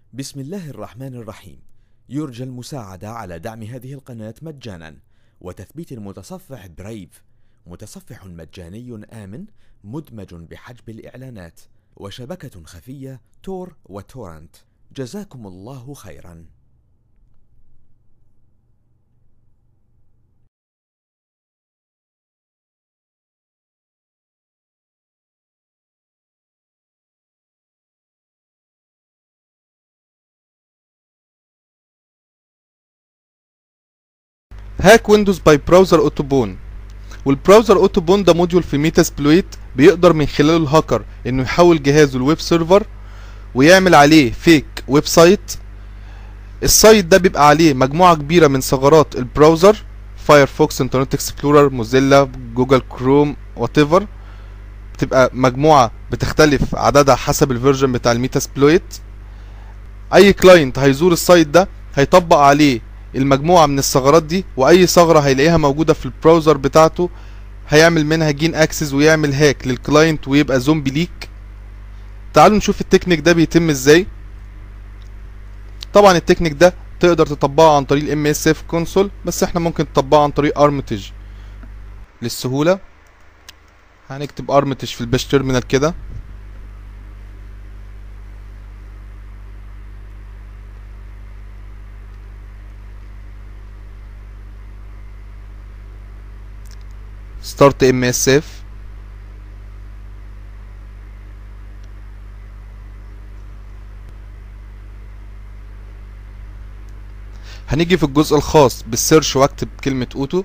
بسم الله الرحمن الرحيم. يرجى المساعدة على دعم هذه القناة مجانا وتثبيت المتصفح برايف، متصفح مجاني آمن مدمج بحجب الإعلانات وشبكة خفية تور وتورنت. جزاكم الله خيرا. هاك ويندوز باي براوزر اوتوبون. والبراوزر اوتوبون ده موديول في ميتاسبلويت بيقدر من خلاله الهاكر انه يحول جهازه الويب سيرفر ويعمل عليه فيك ويب سايت. السايت ده بيبقى عليه مجموعة كبيرة من ثغرات البراوزر، فايرفوكس، انترنت اكسبلورر، موزيلا، جوجل كروم، واتيفر. بتبقى مجموعة بتختلف عددها حسب الفيرجن بتاع الميتاسبلويت. اي كلاينت هيزور السايت ده هيطبق عليه المجموعة من الثغرات دي، واي ثغرة هيلاقيها موجودة في البراوزر بتاعته هيعمل منها جين اكسس ويعمل هاك للكلاينت ويبقى زومبي ليك. تعالوا نشوف التكنيك ده بيتم ازاي. طبعا التكنيك ده تقدر تطبقه عن طريق الام اس اف كونسول، بس احنا ممكن نطبقه عن طريق ارمتج للسهولة. هنكتب ارمتج في الباش تيرمينال كده، ستارت ام اس اف. هنيجي في الجزء الخاص بالسيرش واكتب كلمة اوتو.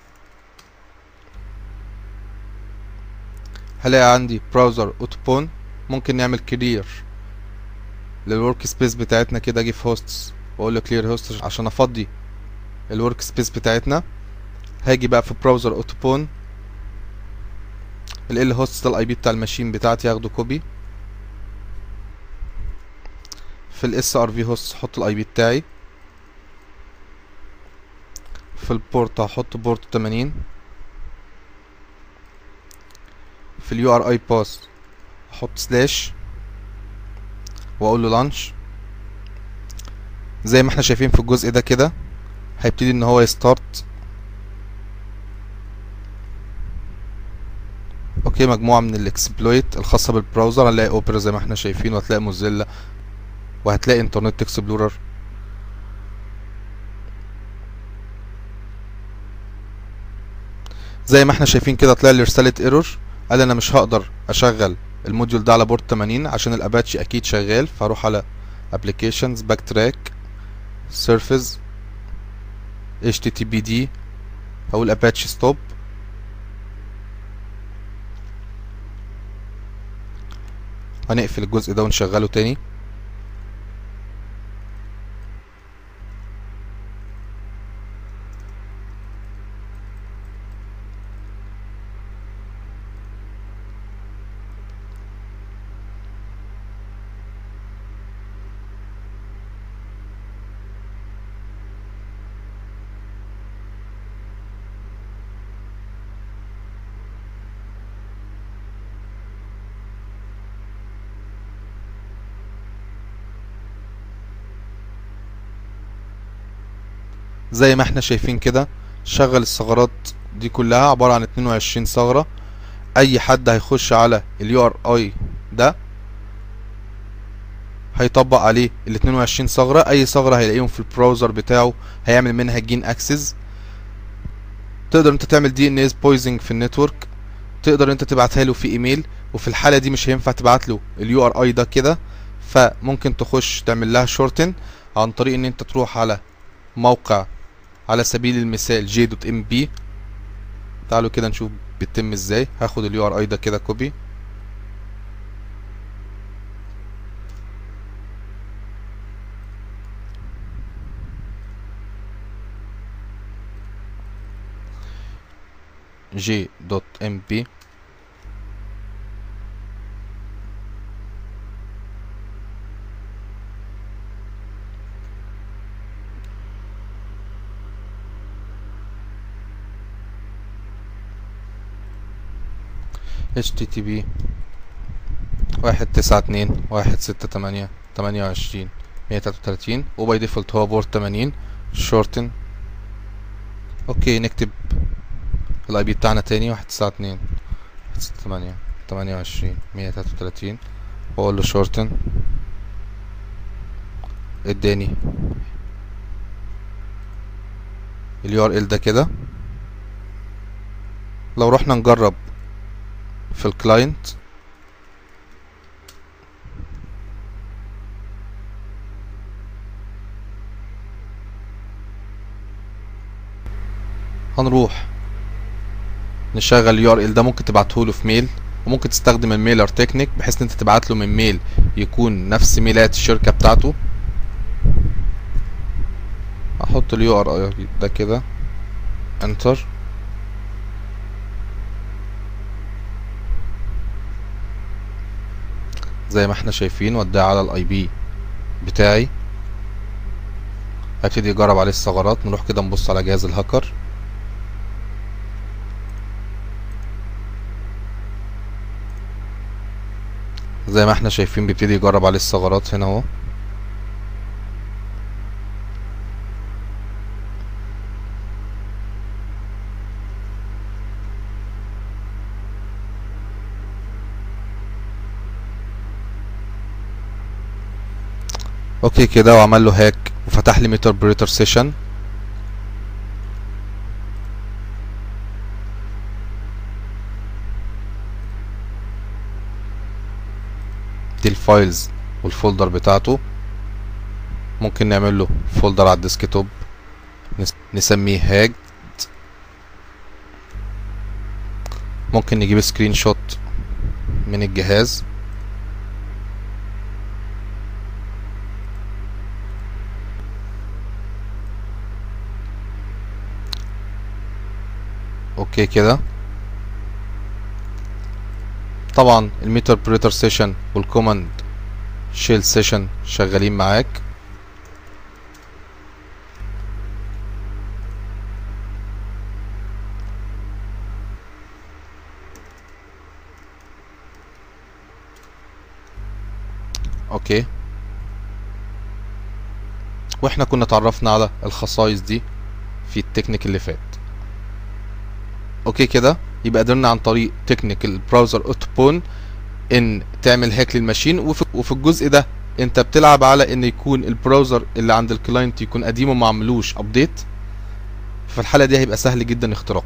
هلاقي عندي براوزر اوتوبون. ممكن نعمل كلير للورك سبيس بتاعتنا كده، اجي في هوستس واقول له كلير هوست عشان افضي الورك سبيس بتاعتنا. هاجي بقى في براوزر اوتوبون، ال هوست ده الاي بي بتاع الماشين بتاعتي، هاخده كوبي. في الاس ار في هوست احط الاي بي بتاعي. في البورت هحط بورت 80. في اليو ار اي باس احط سلاش واقول له لانش. زي ما احنا شايفين في الجزء ده كده هيبتدي ان هو يستارت. اوكي، مجموعة من الاكسبلويت الخاصة بالبراوزر. هنلاقي اوبرا زي ما احنا شايفين، وهتلاقي موزيلا، وهتلاقي انترنت اكسبلورر. زي ما احنا شايفين كده طلع لي رسالة ايرور، قال انا مش هقدر اشغل الموديول ده على بورت 80 عشان الاباتشي اكيد شغال. فاروح على ابلكيشنز، باك تراك، سيرفيس، HTTPD، هقول اباتشي ستوب. هنقفل الجزء ده ونشغله تاني. زي ما احنا شايفين كده شغل الثغرات دي كلها، عبارة عن 22 ثغرة. اي حد هيخش على اليو ار اي ده هيطبق عليه ال 22 ثغرة. اي ثغرة هيلاقيهم في البراوزر بتاعه هيعمل منها جين اكسس. تقدر انت تعمل دي ان اس بويزنج في النتورك، تقدر انت تبعتها له في ايميل، وفي الحالة دي مش هينفع تبعت له اليو ار اي ده كده، فممكن تخش تعمل لها شورتن عن طريق ان انت تروح على موقع على سبيل المثال j.mb. تعالوا كده نشوف بيتم ازاي. هاخد اليو ار اي ده كده كوبي، j.mb، http 192.168.28 133 وباي ديفولت هو بورت 80 شورتن. اوكي نكتب الاي بي بتاعنا تاني 192 168 28 133 واقول له شورتن. اداني اليو ار ال ده كده. لو رحنا نجرب في الكلاينت هنروح نشغل اليو ار ال ده. ممكن تبعتهوله في ميل وممكن تستخدم الميلر تكنيك بحيث ان انت تبعت له من ميل يكون نفس ميلات الشركة بتاعته. احط اليو ار ال ده كده انتر. زي ما احنا شايفين وداه على الاي بي بتاعي. هبتدي اجرب عليه الثغرات. نروح كده نبص على جهاز الهاكر. زي ما احنا شايفين بيبتدي يجرب عليه الثغرات هنا اهو. اوكي كده وعمل له هاك وفتح لي ميتر بريتر سيشن. دي الفايلز والفولدر بتاعته. ممكن نعمل له فولدر على الديسكتوب نسميه هاج. ممكن نجيب سكرين شوت من الجهاز. اوكي كده. طبعا الميتر بريتر سيشن والكوماند شيل سيشن شغالين معاك. اوكي واحنا كنا اتعرفنا على الخصائص دي في التكنيك اللي فات. اوكي كده يبقى قدرنا عن طريق تكنيك البراوزر اوتوبون ان تعمل هاك للماشين. وفي الجزء ده انت بتلعب على ان يكون البراوزر اللي عند الكلاينت يكون قديم وما عملوش ابديت. في الحالة دي هيبقى سهل جدا اختراقه.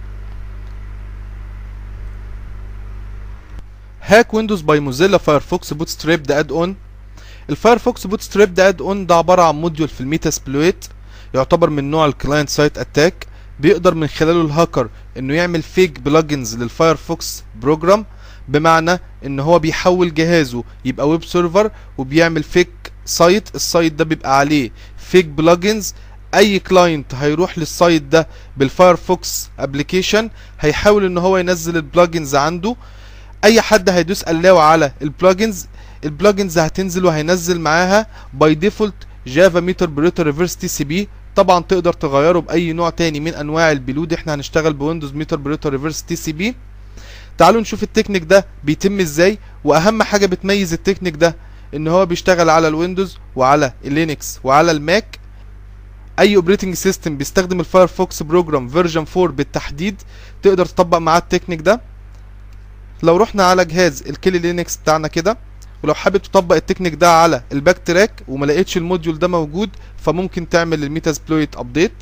هاك ويندوز باي موزيلا فايرفوكس بوتستراب ده اد اون. الفايرفوكس بوتستراب ده اد اون ده عبارة عن موديول في الميتاسبلويت يعتبر من نوع الكلاينت سايت اتاك. بيقدر من خلاله الهاكر انه يعمل فيك بلجنز للفايرفوكس بروجرام. بمعنى ان هو بيحول جهازه يبقى ويب سيرفر وبيعمل فيك سايت. السايت ده بيبقى عليه فيك بلجنز. اي كلاينت هيروح للسايت ده بالفايرفوكس ابلكيشن هيحاول ان هو ينزل البلجنز عنده. اي حد هيدوس الاو على البلجنز هتنزل وهينزل معاها باي ديفولت جافا ميتر بريتر ريفرس تي سي بي. طبعا تقدر تغيره باي نوع تاني من انواع البلود. احنا هنشتغل بويندوز ميتر بريتر ريفرس تي سي بي. تعالوا نشوف التكنيك ده بيتم ازاي. واهم حاجه بتميز التكنيك ده ان هو بيشتغل على الويندوز وعلى اللينكس وعلى الماك. اي اوبريتنج سيستم بيستخدم الفايرفوكس بروجرام فيرجن 4 بالتحديد تقدر تطبق معاه التكنيك ده. لو رحنا على جهاز الكيلي لينكس بتاعنا كده ولو حابب تطبق التكنيك ده على الباك تراك وما لقيتش الموديول ده موجود فممكن تعمل الميتاسبلويت ابديت.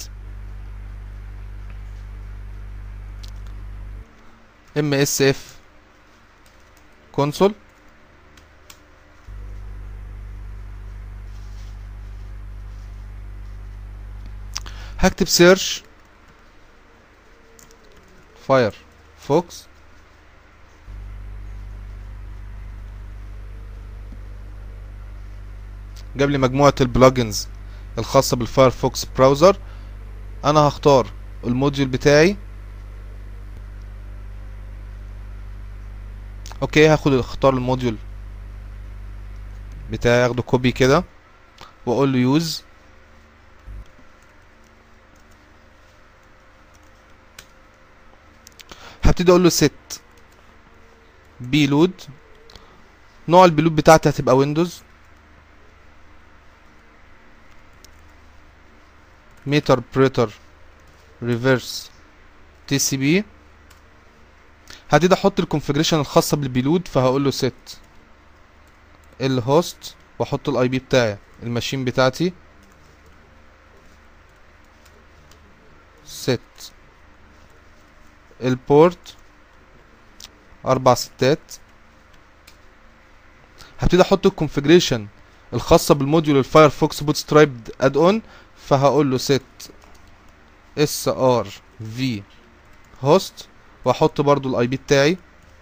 MSF كونسول. هكتب سيرش فايرفوكس جاب لي مجموعة البلجنز الخاصة بالفايرفوكس براوزر. انا هختار الموديول بتاعي. اوكي اختار الموديول بتاعي اخده كوبي كده واقول له يوز. هبتدي اقول له set بيلود. نوع البيلود بتاعتي هتبقى ويندوز. ميتر بريتر ريفرس تي سي بي. هبتدي احط الكونفيجريشن الخاصه بالبيلود، فهقول له set الهوست واحط الاي بي بتاعي الماشين بتاعتي، set البورت 4 ستات. هبتدي احط الكونفيجريشن الخاصه بالموديول الفايرفوكس بوتسترايبد اد اون، فهقول له set srv host واحط برضو الاي بي بتاعي،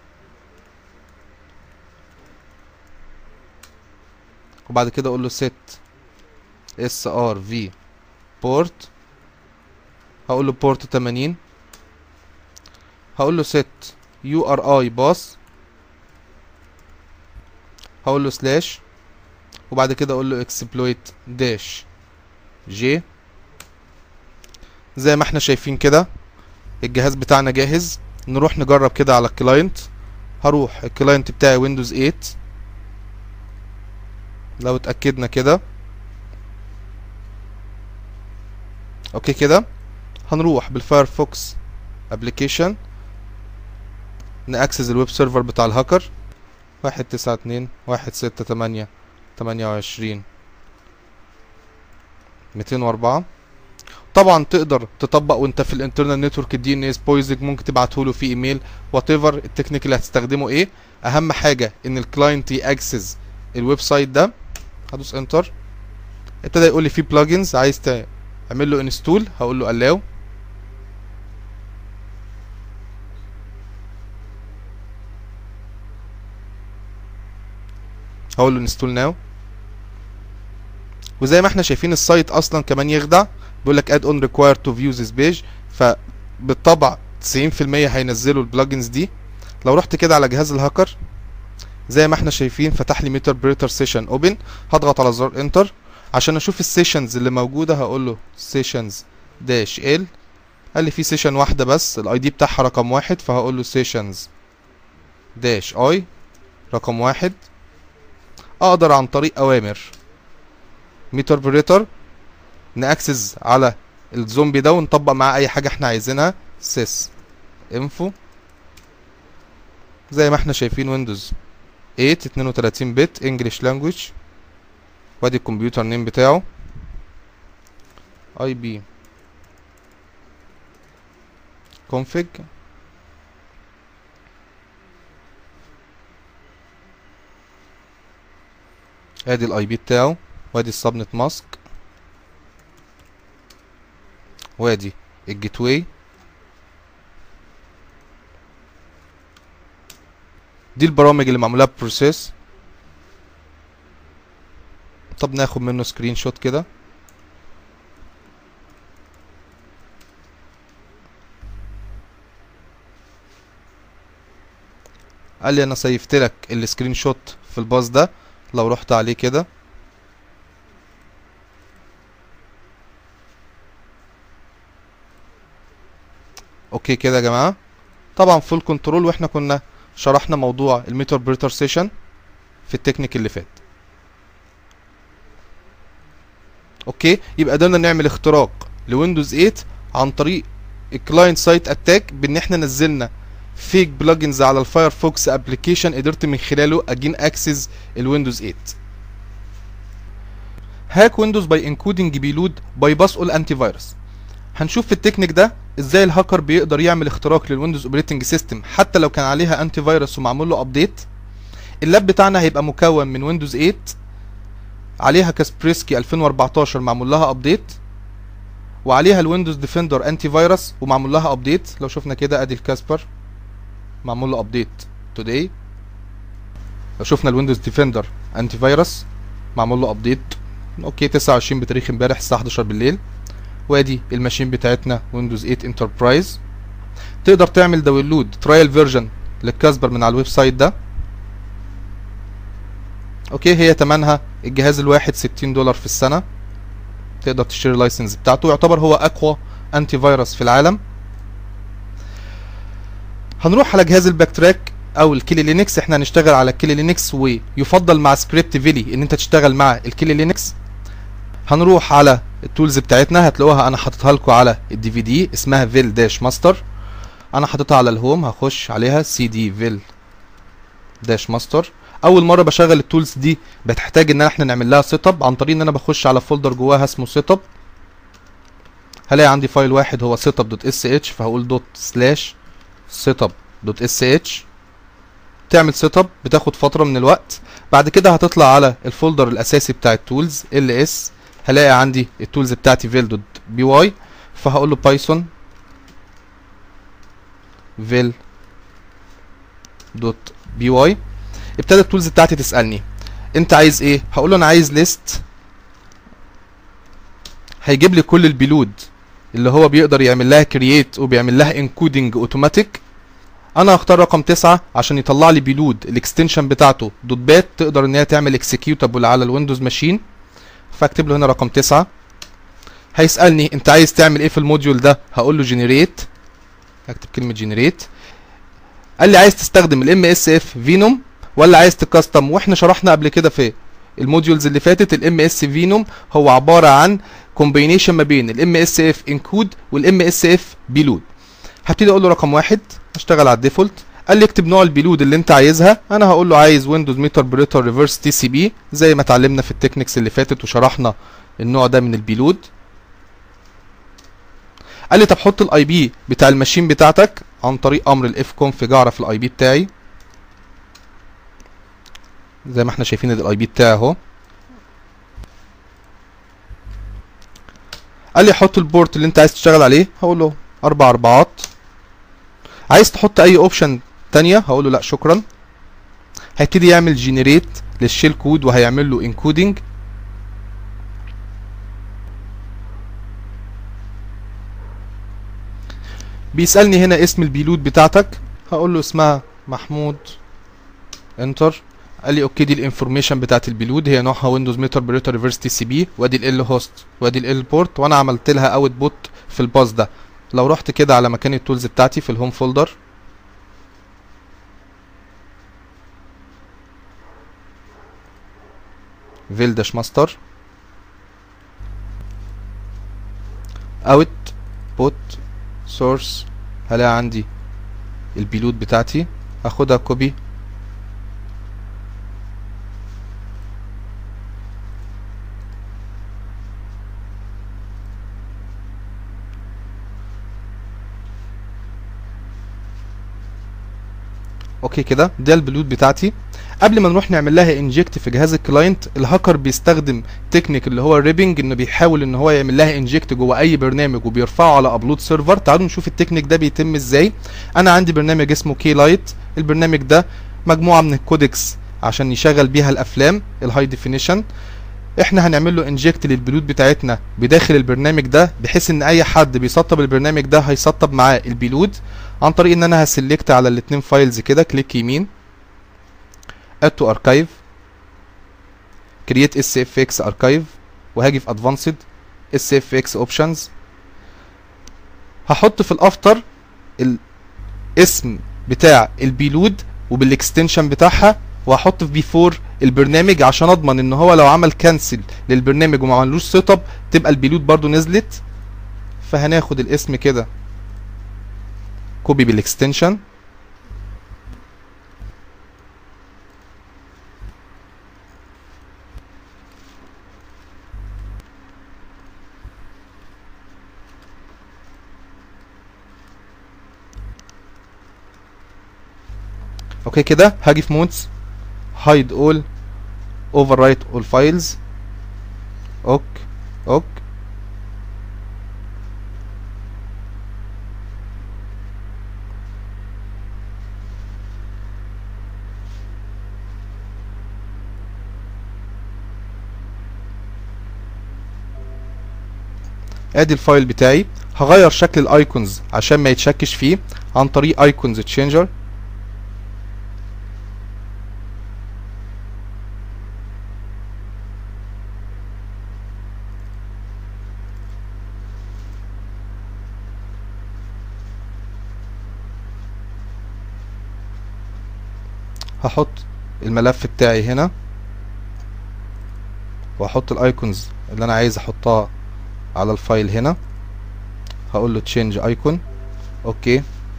وبعد كده اقول له set srv port، هقول له port 80، هقول له set URI bus، هقول له سلاش، وبعد كده اقول له exploit dash j. زي ما احنا شايفين كده الجهاز بتاعنا جاهز. نروح نجرب كده على الكلاينت. هروح الكلاينت بتاعي ويندوز 8، لو اتأكدنا كده اوكي كده، هنروح بالفايرفوكس ابليكيشن نأكسس الويب سيرفر بتاع الهاكر 192.168.28.204. طبعا تقدر تطبق وانت في الانترنال نتورك الدي ان اس بويزنج، ممكن تبعته له في ايميل، وات ايفر التكنيك اللي هتستخدمه ايه. اهم حاجه ان الكلاينت ياكسس الويب سايت ده. هدوس انتر، ابتدى يقول لي في بلجنز عايز تعمل له انستول، هقول له allow، هقول له انستول ناو. وزي ما احنا شايفين السايت اصلا كمان يخدع، بيقول لك add on required to view this page، فبالطبع 90% هينزلوا البلجنز دي. لو رحت كده على جهاز الهاكر زي ما احنا شايفين فتح لي ميتر بريتر سيشن اوبن، هضغط على زر انتر عشان اشوف السيشنز اللي موجوده. هقول له سيشنز داش ال، قال لي في سيشن واحده بس الاي دي بتاعها رقم 1، فهقول له سيشنز داش اي رقم 1. اقدر عن طريق اوامر ميتر بريتر ناكسس على الزومبي ده ونطبق معاه اي حاجه احنا عايزينها. sys info زي ما احنا شايفين ويندوز 8 32 بت انجلش لانجويج، وادي الكمبيوتر نيم بتاعه اي بي config، ادي الاي بي بتاعه، وادي السبنت ماسك، وادي الجيت واي. دي البرامج اللي معموله بروسيس. طب ناخد منه سكرين شوت كده. قال لي انا سيفت لك السكرين شوت في الباص ده. لو رحت عليه كده اوكي كده يا جماعه، طبعا فول كنترول، واحنا كنا شرحنا موضوع الميتر بريتر سيشن في التكنيك اللي فات. اوكي يبقى قدرنا نعمل اختراق لويندوز 8 عن طريق الكلاينت سايت اتاك، بان احنا نزلنا فيك بلجنز على الفايرفوكس ابلكيشن، قدرت من خلاله اجين اكسس الويندوز 8. هاك ويندوز باي انكودنج بيلود باي باس اول انتي فيروس. هنشوف في التكنيك ده ازاي الهاكر بيقدر يعمل اختراق للويندوز اوبريتنج سيستم حتى لو كان عليها انتي فيروس ومعمول له ابديت. اللاب بتاعنا هيبقى مكون من ويندوز 8 عليها كاسبريسكي 2014 معمول لها ابديت، وعليها الويندوز ديفندر انتي فيروس ومعمول لها ابديت. لو شفنا كده ادي الكاسبر معمول له ابديت توداي. لو شفنا الويندوز ديفندر انتي فيروس معمول له ابديت اوكي 29 بتاريخ امبارح الساعه 11 بالليل. وادي الماشين بتاعتنا ويندوز 8 انتربرايز. تقدر تعمل داونلود ترايل فيرجن للكاسبر من على الويب سايت ده. اوكي هي تمنها الجهاز الواحد $60 في السنه، تقدر تشتري اللايسنس بتاعته، يعتبر هو اقوى انتي فيروس في العالم. هنروح على جهاز الباك تراك او الكيلي لينكس. احنا هنشتغل على الكيلي لينكس، ويفضل مع سكريبت فيلي ان انت تشتغل مع الكيلي لينكس. هنروح على التولز بتاعتنا هتلاقوها انا حاططها لكم على الدي في دي، اسمها فيل داش ماستر. انا حاططها على الهوم، هخش عليها سي دي فيل داش ماستر. اول مره بشغل التولز دي بتحتاج ان احنا نعمل لها سيت اب عن طريق ان انا بخش على فولدر جواها اسمه سيت اب. هلاقي عندي فايل واحد هو setup دوت اس اتش، فهقول دوت سلاش setup دوت اس اتش. تعمل سيت اب بتاخد فتره من الوقت. بعد كده هتطلع على الفولدر الاساسي بتاع التولز ال اس، هلاقي عندي التولز بتاعتي فيل دوت بي واي، فهقول له بايثون فيل دوت بي واي. ابتدى التولز بتاعتي تسالني انت عايز ايه، هقول له انا عايز ليست. هيجيب لي كل البيلود اللي هو بيقدر يعمل لها كرييت وبيعمل لها انكودنج اوتوماتيك. انا هختار رقم 9 عشان يطلع لي بيلود الاكستنشن بتاعته دوت بات، تقدر ان هي تعمل اكسكيوتابل على الويندوز ماشين، فاكتب له هنا رقم 9. هيسالني انت عايز تعمل ايه في الموديول ده، هقول له جنريت، هكتب كلمه جنريت. قال لي عايز تستخدم الام اس اف فينوم ولا عايز تكستم، واحنا شرحنا قبل كده في الموديولز اللي فاتت الام اس فينوم هو عباره عن كومبينيشن ما بين الام اس اف انكود والام اس اف بيلود. هبتدي اقول له رقم 1 اشتغل على الديفولت. قال لي اكتب نوع البيلود اللي انت عايزها، انا هقول له عايز ويندوز ميتر بريتر ريفرس تي سي بي زي ما اتعلمنا في التكنيكس اللي فاتت وشرحنا النوع ده من البيلود. قال لي طب حط الاي بي بتاع الماشين بتاعتك عن طريق امر الاف كونفج، اعرف الاي بي بتاعي زي ما احنا شايفين الاي بي بتاعي اهو. قال لي حط البورت اللي انت عايز تشتغل عليه، هقول له 4 4. عايز تحط اي اوبشن تانية، هقول له لا شكرا. هيبتدي يعمل جنريت للشيل كود وهيعمل له انكودنج. بيسالني هنا اسم البيلود بتاعتك، هقول له اسمها محمود، انتر. قال لي اوكي، دي الانفورميشن بتاعت البيلود، هي نوعها ويندوز ميتر بريتر ريفرس تي سي بي، وادي ال هوست وادي ال بورت، وانا عملت لها اوت بوت في الباص ده. لو رحت كده على مكان التولز بتاعتي في الهوم فولدر، فيل داش ماستر اوت بوت سورس، هلاقي عندي البيلود بتاعتي، هاخدها كوبي اوكي كده. ده البيلود بتاعتي. قبل ما نروح نعمل لها انجكت في جهاز الكلاينت، الهاكر بيستخدم تكنيك اللي هو الريبنج، انه بيحاول ان هو يعمل لها انجكت جوه اي برنامج وبيرفعه على ابلود سيرفر. تعالوا نشوف التكنيك ده بيتم ازاي. انا عندي برنامج اسمه كي لايت، البرنامج ده مجموعه من الكودكس عشان يشغل بيها الافلام الهاي ديفينيشن. احنا هنعمل له انجكت للبيلود بتاعتنا بداخل البرنامج ده، بحيث ان اي حد بيسطب البرنامج ده هيسطب معاه البيلود عن طريق ان انا هسلكت على الاتنين فايلز كده، كليك يمين add to archive create sfx archive، وهاجي في advanced sfx options. هحط في الافتر الاسم بتاع البيلود وبالاكستنشن بتاعها، وهحط في بيفور البرنامج عشان اضمن ان هو لو عمل كانسل للبرنامج وما عملوش سيت اب تبقى البيلود برضو نزلت. فهناخد الاسم كده كوبي بالاكستنشن، اوكي كده. هاجي في مودز hide all overwrite all files، اوك. ادي الفايل بتاعي. هغير شكل الايكونز عشان ما يتشكش فيه عن طريق ايكونز تشينجر. هحط الملف بتاعي هنا، واحط الايكونز اللي انا عايز احطها على الفايل هنا، هقول له تشينج ايكون. اوكي،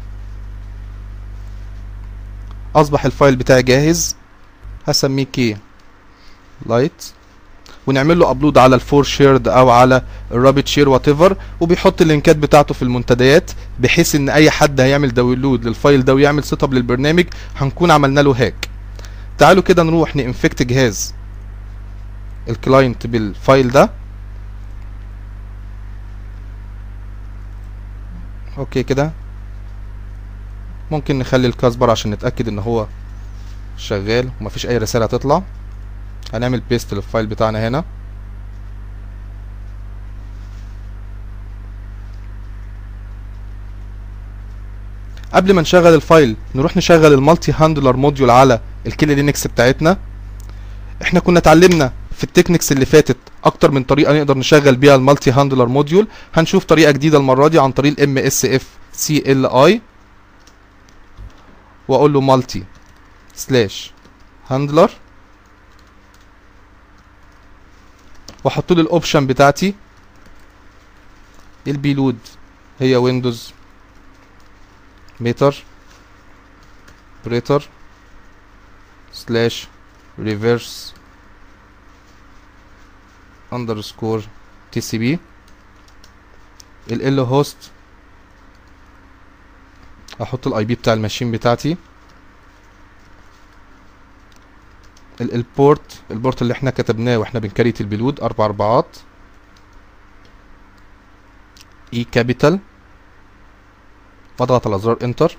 اصبح الفايل بتاعي جاهز. هسميه كي لايت، ونعمل له ابلود على الفور شيرد او على الرابط شير وات ايفر، وبيحط اللينكات بتاعته في المنتديات، بحيث ان اي حد هيعمل داونلود للفايل ده ويعمل سيت اب للبرنامج هنكون عملنا له هاك. تعالوا كده نروح نانفكت جهاز الكلاينت بالفايل ده. اوكي كده، ممكن نخلي الكاسبر عشان نتاكد ان هو شغال ومفيش اي رساله هتطلع. هنعمل بيست للفايل بتاعنا هنا. قبل ما نشغل الفايل نروح نشغل المالتي هاندلر موديول على الكيلي لينكس بتاعتنا. احنا كنا اتعلمنا في التكنيكس اللي فاتت اكتر من طريقه نقدر نشغل بيها المالتي هاندلر موديول. هنشوف طريقه جديده المره دي عن طريق MSF_CLI، واقول له مالتي سلاش هاندلر، واحط له الاوبشن بتاعتي. البيلود هي ويندوز ميتر بريتر سلاش ريفرس اندرسكور TCP. ال هوست احط الاي بي بتاع الماشين بتاعتي. البورت اللي احنا كتبناه واحنا بنكريت البيلود 4 4 اي كابيتال، واضغط على زرار انتر.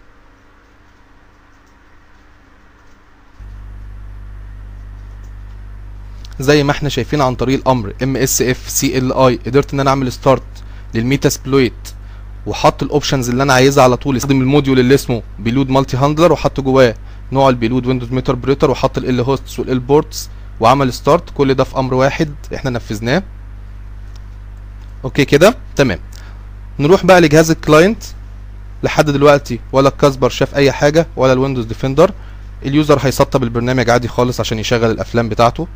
زي ما احنا شايفين عن طريق الامر MSF_CLI قدرت ان انا اعمل ستارت للميتاسبلويت، وحط الاوبشنز اللي انا عايزها على طول. استخدم الموديول اللي اسمه بيلود مالتي هاندلر، وحط جواه نوع البيلود ويندوز ميتر بريتر، وحط ال هوستس وال بورتس، وعمل ستارت. كل ده في امر واحد احنا نفذناه. اوكي كده تمام. نروح بقى لجهاز الكلاينت. لحد دلوقتي ولا الكاسبر شاف اي حاجه ولا الويندوز ديفندر. اليوزر هيسطب البرنامج عادي خالص عشان يشغل الافلام بتاعته.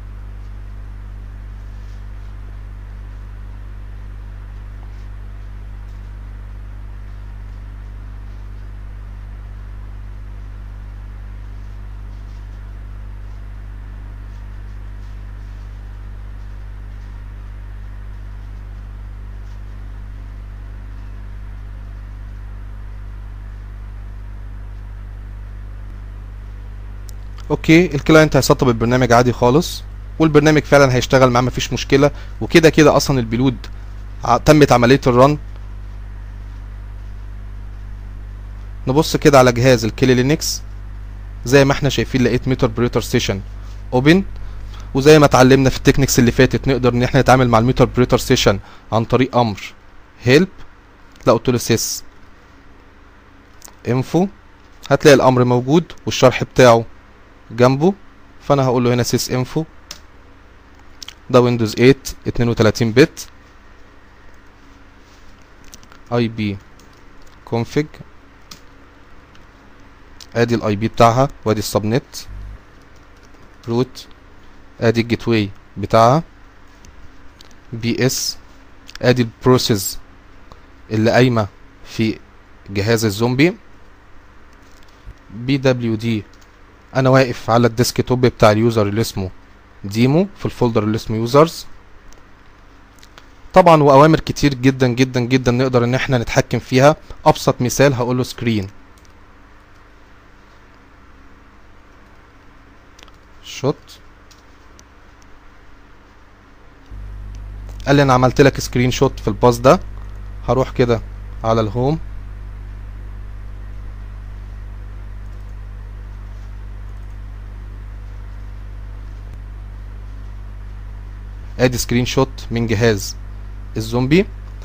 اوكي، الكلاينت هيسطب البرنامج عادي خالص، والبرنامج فعلا هيشتغل معاه مفيش مشكله. وكده كده اصلا البيلود تمت عمليه الرن. نبص كده على جهاز الكيلي لينكس. زي ما احنا شايفين لقيت ميتر بريتر ستيشن اوبن، وزي ما اتعلمنا في التكنيكس اللي فاتت نقدر ان احنا نتعامل مع الميتر بريتر ستيشن عن طريق امر هيلب. لا قلت له سيس انفو، هتلاقي الامر موجود والشرح بتاعه جنبه. فانا هقول له هنا سيس انفو، ده ويندوز 8 32 بت، اي بي كونفيج، ادي الاي بي بتاعها وادي السبنت روت، ادي الجيت واي بتاعها بي اس، ادي البروسيس اللي قايمه في جهاز الزومبي بي دبليو دي. انا واقف على الديسك توب بتاع اليوزر اللي اسمه ديمو في الفولدر اللي اسمه يوزرز. طبعا واوامر كتير جدا جدا جدا نقدر ان احنا نتحكم فيها. ابسط مثال هقول له سكرين شوت، قال لي انا عملت لك سكرين شوت في الباص ده. هروح كده على الهوم، ادي سكرين شوت من جهاز الزومبي.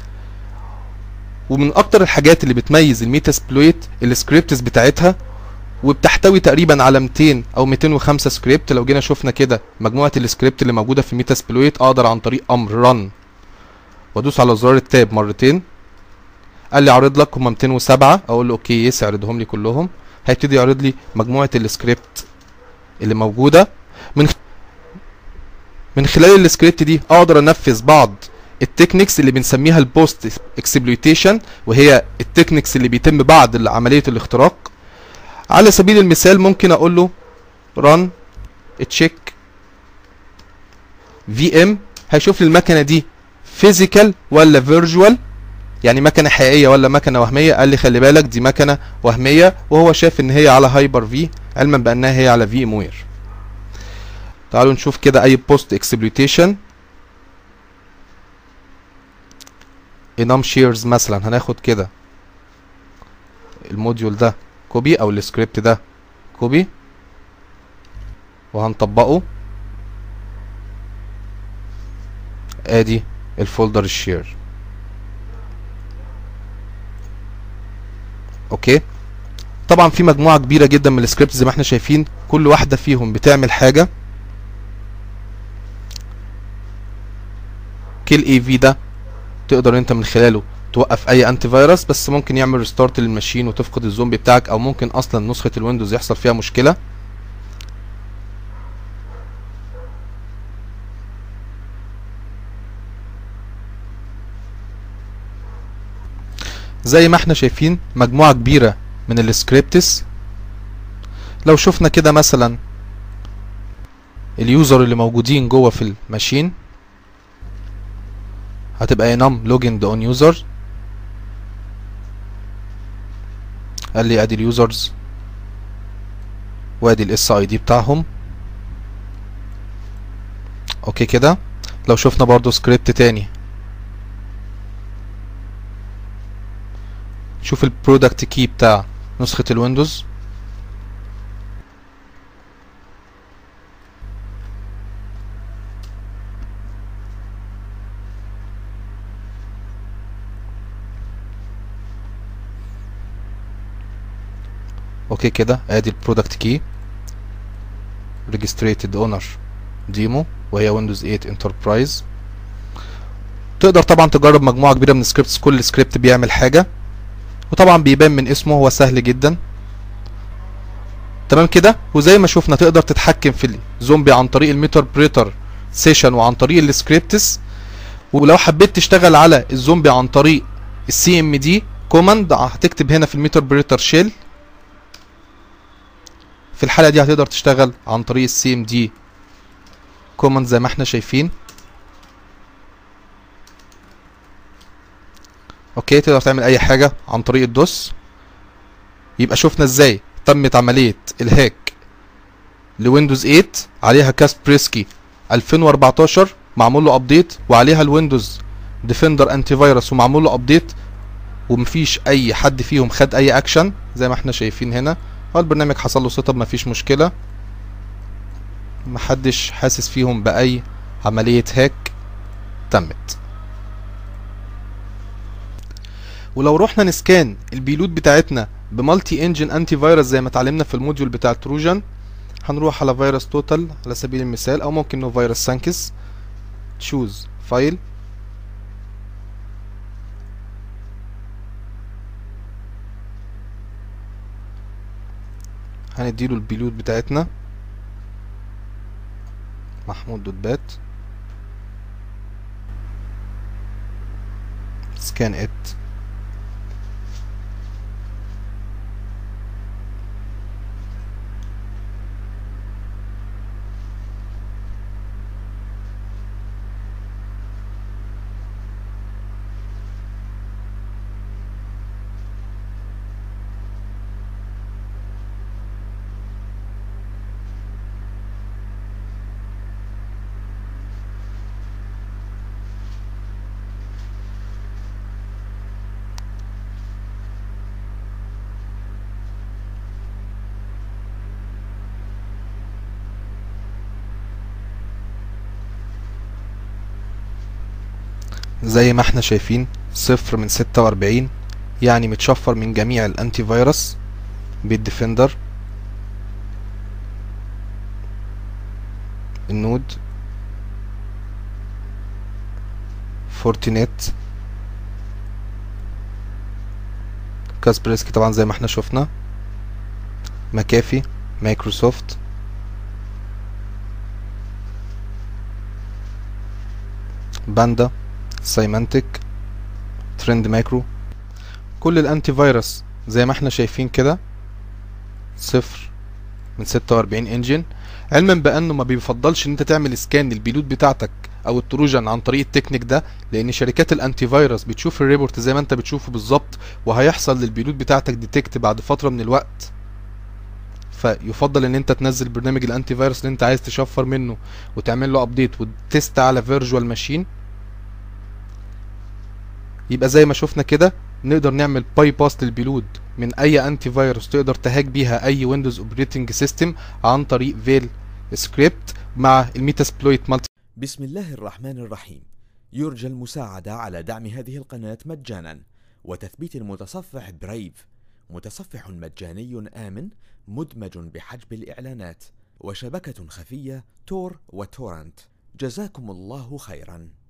ومن اكتر الحاجات اللي بتميز الميتاسبلويت السكريبتس بتاعتها، وبتحتوي تقريبا على 200 او 205 سكريبت. لو جينا شفنا كده مجموعه السكريبت اللي موجوده في ميتاسبلويت، اقدر عن طريق امر رن وادوس على زرار التاب مرتين. قال لي عرض لك هم 207، اقول له اوكي يس اعرضهم لي كلهم. هيبتدي يعرض لي مجموعه السكريبت اللي موجوده. من خلال السكريبت دي اقدر انفذ بعض التكنيكس اللي بنسميها البوست اكسبلويتيشن، وهي التكنيكس اللي بيتم بعد عملية الاختراق. على سبيل المثال ممكن اقول له run check VM، هيشوف لي المكنة دي فيزيكال ولا فيرجوال، يعني مكنة حقيقية ولا مكنة وهمية. قال لي خلي بالك دي مكنة وهمية، وهو شاف ان هي على هايبر في علما بانها هي على في ام وير. تعالوا نشوف كده اي بوست اكسبلويتيشن. انام شيرز مثلا، هناخد كده الموديول ده كوبي او السكريبت ده كوبي وهنطبقه. ادي الفولدر الشير. اوكي، طبعا في مجموعة كبيرة جدا من السكريبت زي ما احنا شايفين، كل واحدة فيهم بتعمل حاجة. كيل اي في ده تقدر انت من خلاله توقف اي انتي فيروس، بس ممكن يعمل ريستارت للماشين وتفقد الزومبي بتاعك، او ممكن اصلا نسخة الويندوز يحصل فيها مشكلة. زي ما احنا شايفين مجموعة كبيرة من السكريبتس. لو شفنا كده مثلا اليوزر اللي موجودين جوه في الماشين، هتبقى enum login on user. قال لي ادي اليوزرز وادي الاس اي دي بتاعهم. اوكي كده. لو شفنا برضو سكريبت تاني، شوف البرودكت كي بتاع نسخة الويندوز. اوكي كده، ادي البرودكت كي ريجستريتد اونر ديمو، وهي ويندوز 8 انتربرايز. تقدر طبعا تجرب مجموعة كبيرة من السكريبتس، كل سكريبت بيعمل حاجة، وطبعا بيبان من اسمه هو سهل جدا. تمام كده. وزي ما شفنا تقدر تتحكم في الزومبي عن طريق الميتربريتر سيشن وعن طريق السكريبتس. ولو حبيت تشتغل على الزومبي عن طريق السي ام دي كوماند، هتكتب هنا في الميتربريتر شيل. في الحالة دي هتقدر تشتغل عن طريق السي ام دي كوماند زي ما احنا شايفين. اوكي، تقدر تعمل اي حاجة عن طريق الدوس. يبقى شفنا ازاي تمت عملية الهاك لويندوز 8 عليها كاسبرسكي 2014 معمول له ابديت، وعليها الويندوز ديفندر انتي فيروس ومعمول له ابديت، ومفيش اي حد فيهم خد اي اكشن زي ما احنا شايفين هنا. هو البرنامج حصل له سيت اب، مفيش مشكلة، محدش حاسس فيهم باي عملية هاك تمت. ولو رحنا نسكان البيلود بتاعتنا بمالتي انجن انتي فيروس زي ما اتعلمنا في الموديول بتاع التروجان، هنروح على فيروس توتال على سبيل المثال، او ممكن نو فيروس سانكس. تشوز فايل، هنديله البيلود بتاعتنا محمود دوت بات سكان ات. زي ما احنا شايفين 0 من 46، يعني متشفر من جميع الانتي فيروس بالديفندر، النود، فورتينيت، كاسبرسكي طبعا زي ما احنا شفنا، مكافي، مايكروسوفت، باندا، سايمانتك، ترند ماكرو. كل الانتي فيروس زي ما احنا شايفين كده 0 من 46 انجن، علما بانه ما بيفضلش ان انت تعمل سكان للبيلود بتاعتك او التروجن عن طريق التكنيك ده، لان شركات الانتي فيروس بتشوف الريبورت زي ما انت بتشوفه بالظبط، وهيحصل للبيلود بتاعتك ديتكت بعد فتره من الوقت. فيفضل ان انت تنزل برنامج الانتي فيروس اللي انت عايز تشفر منه وتعمل له ابديت وتست على فيرجوال ماشين. يبقى زي ما شفنا كده نقدر نعمل باي باس للبيلود من اي انتي فيروس تقدر تهاك بيها اي ويندوز اوبريتنج سيستم عن طريق فيل سكريبت مع الميتاسبلويت مالتي. بسم الله الرحمن الرحيم. يرجى المساعدة على دعم هذه القناة مجانا وتثبيت المتصفح برايف، متصفح مجاني آمن مدمج بحجب الإعلانات وشبكة خفية تور وتورنت. جزاكم الله خيرا.